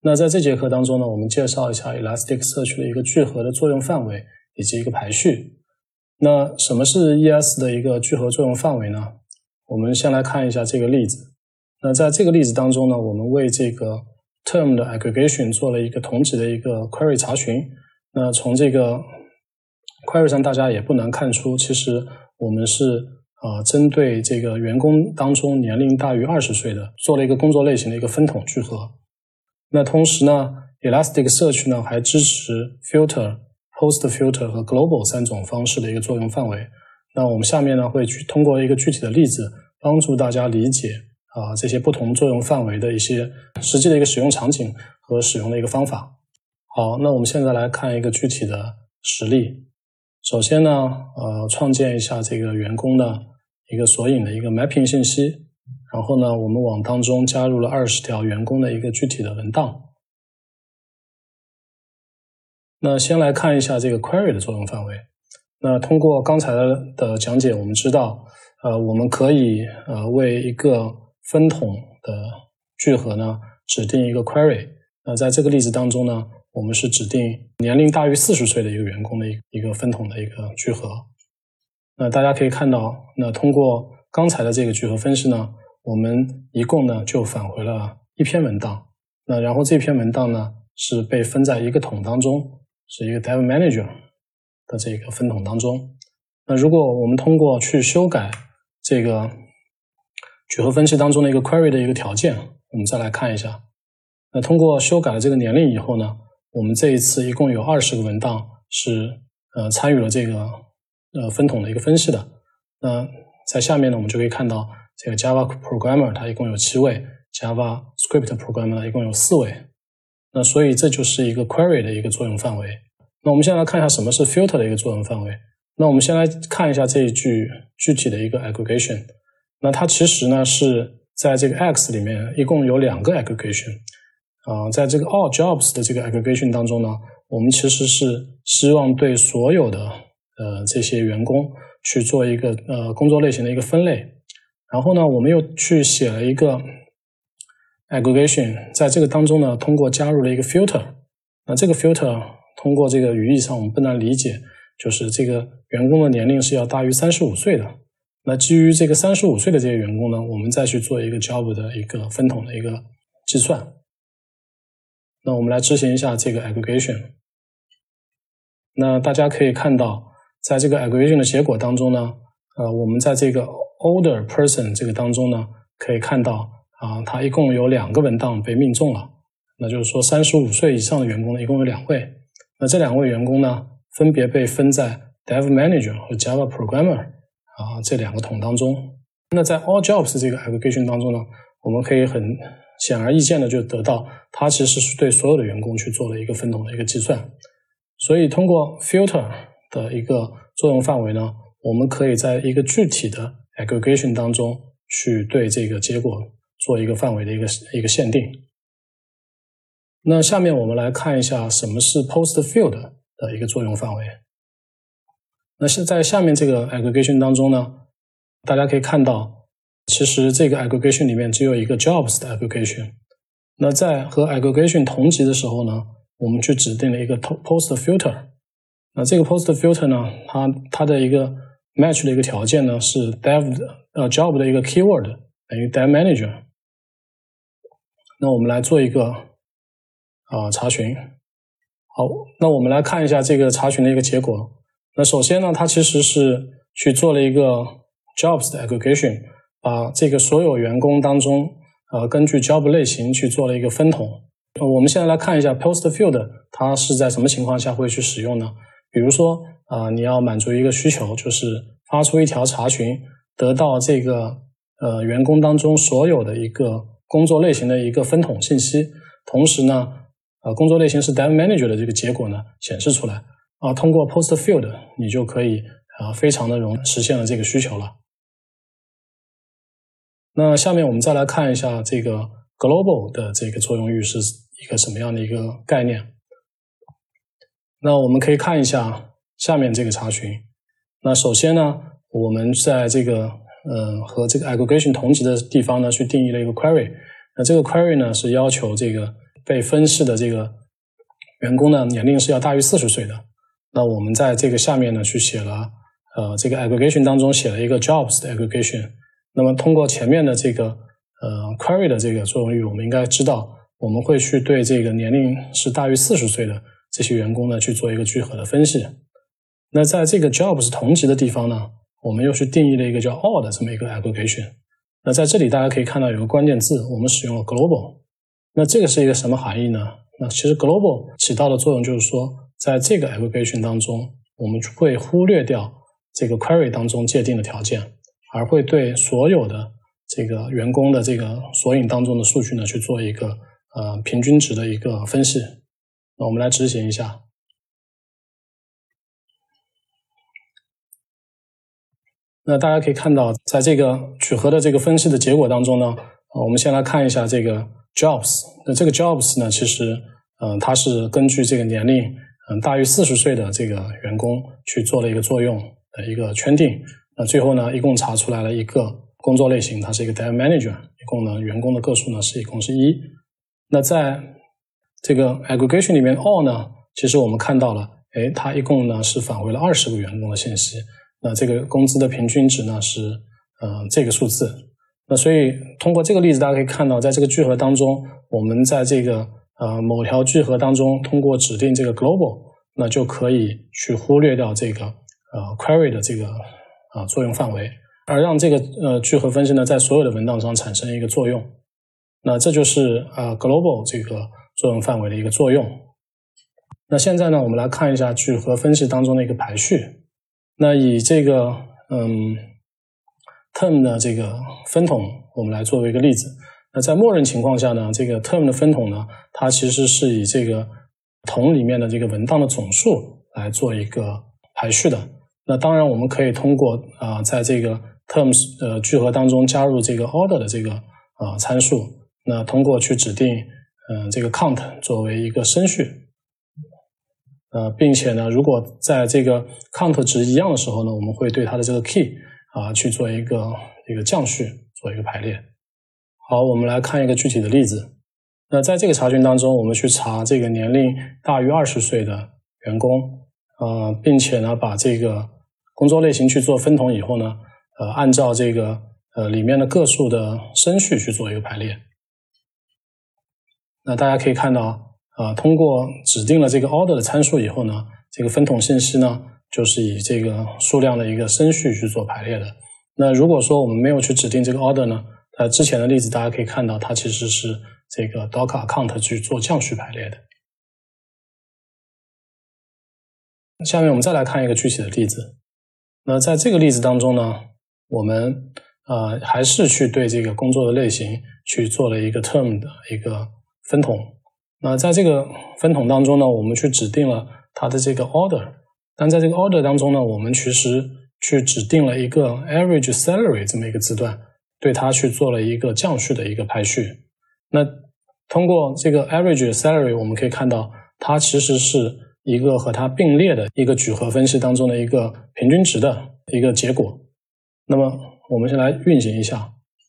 那在这节课当中呢，我们介绍一下 Elasticsearch 的一个聚合的作用范围以及一个排序。那什么是 ES 的一个聚合作用范围呢？我们先来看一下这个例子。那在这个例子当中呢，我们为这个 term 的 aggregation 做了一个同级的一个 query 查询。那从这个 query 上大家也不难看出，其实我们是针对这个员工当中年龄大于20岁的做了一个工作类型的一个分统聚合。那同时呢 Elasticsearch 呢还支持 filter、post filter 和 global 3种方式的一个作用范围。那我们下面呢会去通过一个具体的例子帮助大家理解这些不同作用范围的一些实际的一个使用场景和使用的一个方法。好，那我们现在来看一个具体的实例。首先呢创建一下这个员工的一个索引的一个 mapping 信息，然后呢我们往当中加入了20条员工的一个具体的文档。那先来看一下这个 query 的作用范围。那通过刚才的讲解，我们知道我们可以为一个分统的聚合呢指定一个 query。那在这个例子当中呢，我们是指定年龄大于40岁的一个员工的一个分统的一个聚合。那大家可以看到，那通过刚才的这个聚合分析呢，我们一共呢就返回了一篇文档。那然后这篇文档呢是被分在一个统当中，是一个 dev manager 的这个分统当中。那如果我们通过去修改这个聚合分析当中的一个 query 的一个条件，我们再来看一下。那通过修改了这个年龄以后呢，我们这一次一共有20个文档是参与了这个分统的一个分析的。那在下面呢，我们就可以看到这个 Java Programmer 它一共有7位， Java Script Programmer 一共有4位。那所以这就是一个 query 的一个作用范围。那我们先来看一下什么是 filter 的一个作用范围。那我们先来看一下这一句具体的一个 aggregation。那它其实呢是在这个 X 里面一共有2个 aggregation。在这个 all jobs 的这个 aggregation 当中呢，我们其实是希望对所有的这些员工去做一个工作类型的一个分类。然后呢，我们又去写了一个 aggregation， 在这个当中呢，通过加入了一个 filter。那这个 filter 通过这个语义上我们不难理解，就是这个员工的年龄是要大于35岁的。那基于这个35岁的这些员工呢，我们再去做一个 job 的一个分统的一个计算。那我们来执行一下这个 aggregation。那大家可以看到，在这个 aggregation 的结果当中呢，我们在这个 older person 这个当中呢，可以看到它一共有2个文档被命中了。那就是说35岁以上的员工呢，一共有2位。那这2位员工呢，分别被分在 dev manager 和 Java programmer 这2个统当中。那在 all jobs 这个 aggregation 当中呢，我们可以很显而易见的就得到它其实是对所有的员工去做了一个分统的一个计算。所以通过 filter 的一个作用范围呢，我们可以在一个具体的 aggregation 当中去对这个结果做一个范围的一个限定。那下面我们来看一下什么是 post field 的一个作用范围。那是在下面这个 aggregation 当中呢，大家可以看到其实这个 aggregation 里面只有一个 jobs 的 aggregation。那在和 aggregation 同级的时候呢，我们去指定了一个 post filter。那这个 post filter 呢，它的一个 match 的一个条件呢是 job 的一个 keyword 等于 dev manager。那我们来做一个查询。好，那我们来看一下这个查询的一个结果。那首先呢，它其实是去做了一个 jobs 的 aggregation， 把这个所有员工当中根据 job 类型去做了一个分统。我们现在来看一下 post field 它是在什么情况下会去使用呢？比如说你要满足一个需求，就是发出一条查询，得到这个员工当中所有的一个工作类型的一个分统信息，同时呢工作类型是 dev manager 的这个结果呢显示出来通过 post field 你就可以非常的实现了这个需求了。那下面我们再来看一下这个 global 的这个作用域是一个什么样的一个概念。那我们可以看一下下面这个查询。那首先呢，我们在这个和这个 aggregation 同级的地方呢去定义了一个 query。那这个 query 呢是要求这个被分析的这个员工呢年龄是要大于40岁的。那我们在这个下面呢去写了这个 aggregation 当中写了一个 jobs 的 aggregation。那么通过前面的这个query 的这个作用域，我们应该知道我们会去对这个年龄是大于40岁的这些员工呢去做一个聚合的分析。那在这个 jobs 同级的地方呢，我们又去定义了一个叫 all 的这么一个 aggregation。那在这里大家可以看到有个关键字，我们使用了 global。那这个是一个什么含义呢？那其实 global 起到的作用就是说，在这个 aggregation 当中，我们会忽略掉这个 query 当中界定的条件，而会对所有的这个员工的这个索引当中的数据呢去做一个平均值的一个分析。那我们来执行一下。那大家可以看到，在这个聚合的这个分析的结果当中呢，我们先来看一下这个 jobs。那这个 jobs 呢，其实它是根据这个年龄大于40岁的这个员工去做了一个作用的一个圈定。那最后呢，一共查出来了一个工作类型，它是一个 Dev Manager， 一共呢员工的个数呢一共是1。那在这个 aggregation 里面 all 呢，其实我们看到了，它一共呢是返回了20个员工的信息。那这个工资的平均值呢是这个数字。那所以通过这个例子，大家可以看到，在这个聚合当中，我们在这个某条聚合当中，通过指定这个 global， 那就可以去忽略掉这个query 的这个作用范围，而让这个聚合分析呢在所有的文档上产生一个作用。那这就是global 这个作用范围的一个作用。那现在呢，我们来看一下聚合分析当中的一个排序。那以这个term 的这个分统，我们来作为一个例子。那在默认情况下呢，这个 term 的分统呢，它其实是以这个统里面的这个文档的总数来做一个排序的。那当然我们可以通过在这个 terms 聚合当中加入这个 order 的这个参数，那通过去指定这个 count 作为一个升序。并且呢，如果在这个 count 值一样的时候呢，我们会对它的这个 key 去做一个降序，做一个排列。好，我们来看一个具体的例子。那在这个查询当中，我们去查这个年龄大于20岁的员工，并且呢把这个工作类型去做分统以后呢，按照这个里面的个数的升序去做一个排列。那大家可以看到通过指定了这个 order 的参数以后呢，这个分统信息呢就是以这个数量的一个升序去做排列的。那如果说我们没有去指定这个 order 呢，之前的例子大家可以看到，它其实是这个 docker count 去做降序排列的。下面我们再来看一个具体的例子。那在这个例子当中呢，我们还是去对这个工作的类型去做了一个 term 的一个分统。那在这个分统当中呢，我们去指定了它的这个 order， 但在这个 order 当中呢，我们其实去指定了一个 average salary 这么一个字段，对它去做了一个降序的一个排序。那通过这个 average salary， 我们可以看到它其实是一个和它并列的一个聚合分析当中的一个平均值的一个结果。那么我们先来运行一下。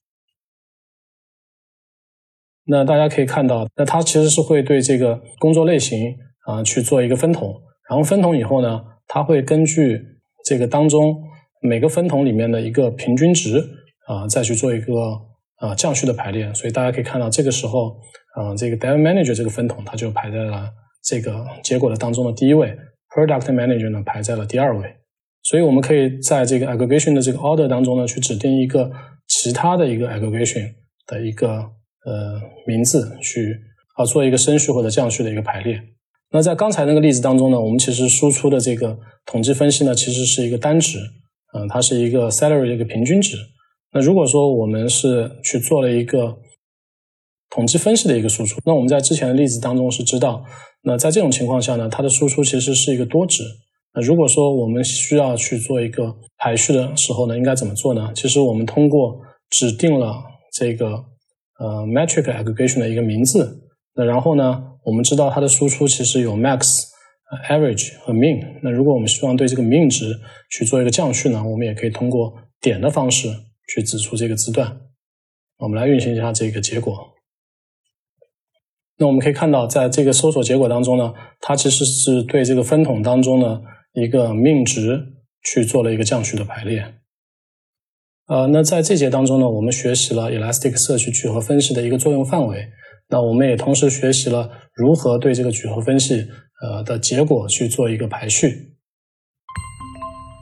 那大家可以看到，那它其实是会对这个工作类型去做一个分统，然后分统以后呢，它会根据这个当中每个分统里面的一个平均值再去做一个降序的排列。所以大家可以看到，这个时候这个 Dev Manager 这个分统它就排在了这个结果的当中的第一位， Product Manager 呢排在了第2位。所以我们可以在这个 aggregation 的这个 order 当中呢，去指定一个其他的一个 aggregation 的一个名字去做一个升序或者降序的一个排列。那在刚才那个例子当中呢，我们其实输出的这个统计分析呢，其实是一个单值，它是一个 salary 的一个平均值。那如果说我们是去做了一个统计分析的一个输出，那我们在之前的例子当中是知道，那在这种情况下呢，它的输出其实是一个多值。那如果说我们需要去做一个排序的时候呢，应该怎么做呢？其实我们通过指定了这个metric aggregation 的一个名字，那然后呢，我们知道它的输出其实有 max、average 和 min。那如果我们希望对这个 min 值去做一个降序呢，我们也可以通过点的方式去指出这个字段。我们来运行一下这个结果。 那我们可以看到，在这个搜索结果当中呢，它其实是对这个分统当中呢一个命值去做了一个降序的排列。那在这节当中呢，我们学习了 Elastic Search 聚合分析的一个作用范围。那我们也同时学习了如何对这个聚合分析的结果去做一个排序。